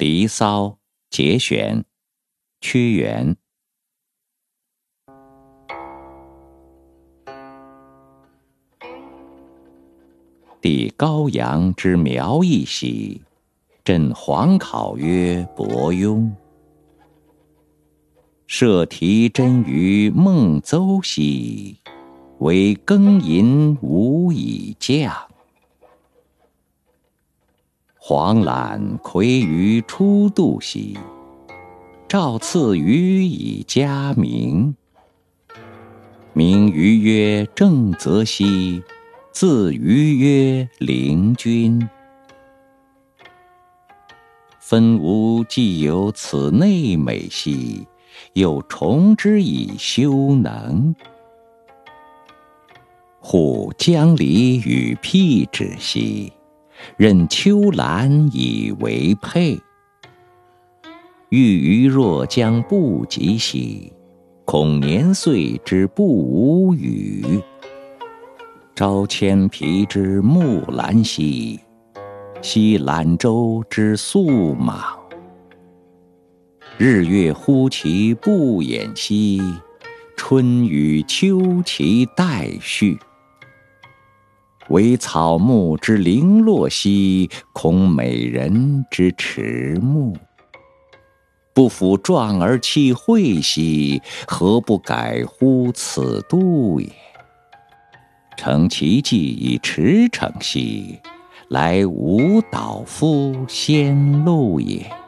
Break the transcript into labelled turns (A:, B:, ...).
A: 离骚》节选，屈原。帝高阳之苗裔兮，朕皇考曰伯庸。摄题真于孟邹兮，惟庚寅吾以降。黄览魁于初度兮，诏赐予以嘉明。名于曰正则兮，字于曰灵均。分吾既有此内美兮，又重之以修能。护江离与辟芷兮，任秋兰以为佩。欲于若将不及兮，恐年岁之不吾语。朝迁皮之木兰兮，夕览舟之肃莽。日月忽其不掩兮，春与秋其代序。惟草木之零落兮，恐美人之迟暮。不抚壮而弃惠兮，何不改乎此度也？乘其计以驰骋兮，来吾导夫先路也。